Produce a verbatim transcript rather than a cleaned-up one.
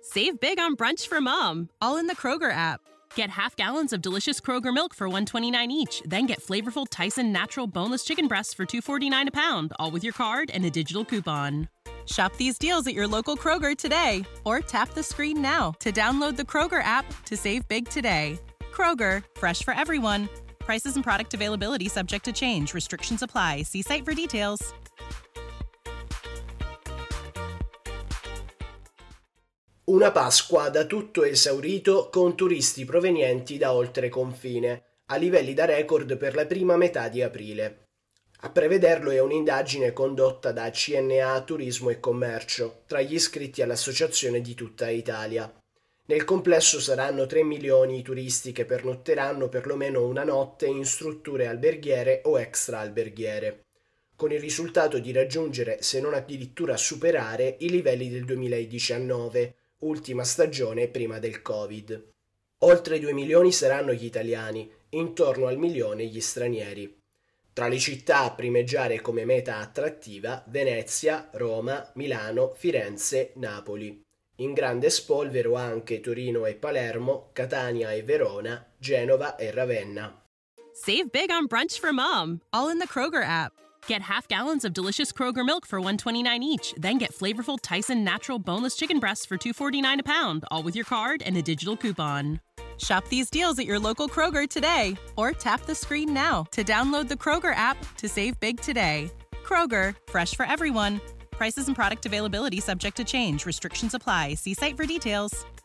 Save big on brunch for mom, all in the Kroger app. Get half gallons of delicious Kroger milk for one dollar and twenty-nine cents each. Then get flavorful Tyson natural boneless chicken breasts for two dollars and forty-nine cents a pound, all with your card and a digital coupon. Shop these deals at your local Kroger today, or tap the screen now to download the Kroger app to save big today. Kroger, fresh for everyone. Prices and product availability subject to change. Restrictions apply. See site for details. Una Pasqua da tutto esaurito con turisti provenienti da oltre confine, a livelli da record per la prima metà di aprile. A prevederlo è un'indagine condotta da C N A Turismo e Commercio, tra gli iscritti all'associazione di tutta Italia. Nel complesso saranno tre milioni i turisti che pernotteranno perlomeno una notte in strutture alberghiere o extra alberghiere, con il risultato di raggiungere, se non addirittura superare, i livelli del duemiladiciannove, ultima stagione prima del Covid. Oltre due milioni saranno gli italiani, intorno al milione gli stranieri. Tra le città a primeggiare come meta attrattiva, Venezia, Roma, Milano, Firenze, Napoli. In grande spolvero anche Torino e Palermo, Catania e Verona, Genova e Ravenna. Save big on brunch for mom, all in the Kroger app. Get half gallons of delicious Kroger milk for one dollar and twenty-nine cents each. Then get flavorful Tyson natural boneless chicken breasts for two dollars and forty-nine cents a pound, all with your card and a digital coupon. Shop these deals at your local Kroger today, or tap the screen now to download the Kroger app to save big today. Kroger, fresh for everyone. Prices and product availability subject to change. Restrictions apply. See site for details.